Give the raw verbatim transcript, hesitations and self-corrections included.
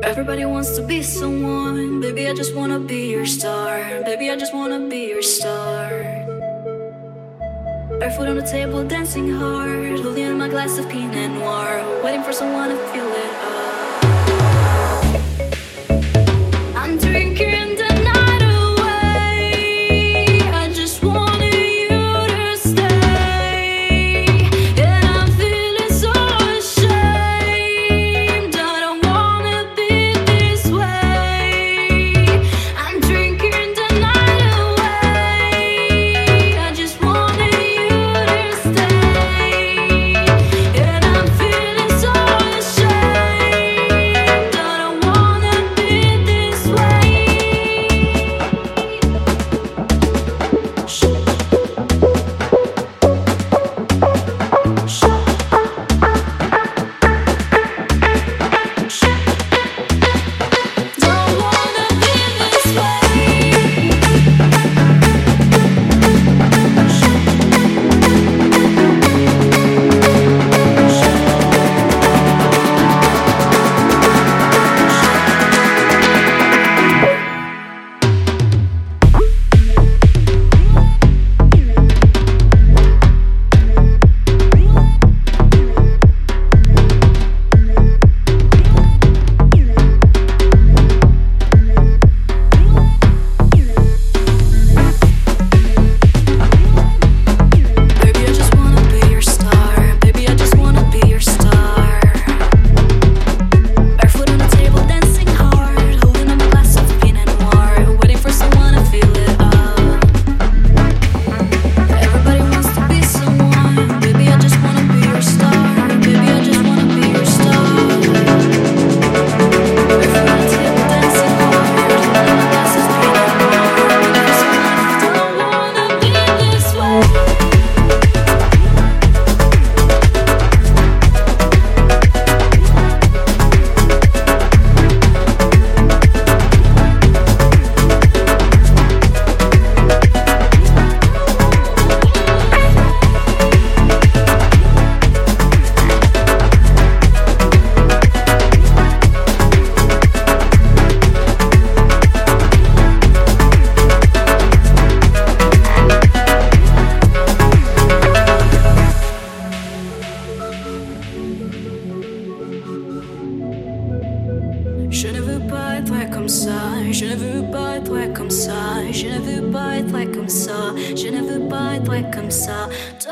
Everybody wants to be someone. Baby, I just wanna be your star. Baby, I just wanna be your star. Barefoot on the table, dancing hard, holding my glass of Pinot Noir, waiting for someone to fill it up. I'm drinking the night away. I just wanted you to stay, and I'm feeling so ashamed. I don't wanna be this way. I'm drinking the night away. I just wanted you to stay, and I'm feeling so ashamed. I don't wanna be this way. Don't wanna be this Baby, I just wanna be your star. Baby, I just wanna be your star. Barefoot on the table, dancing hard, holding up a glass of Pinot Noir, waiting for someone to fill it up. Everybody wants to be someone. Baby, I just wanna be your star. Baby, I just wanna be your star. Barefoot on the table, dancing hard, holding up a glass of Pinot Noir, waiting for someone to fill it up. Don't wanna be this way. Je ne veux pas être comme ça, je ne veux pas être comme ça, je ne veux pas être comme ça, je ne veux pas être comme ça.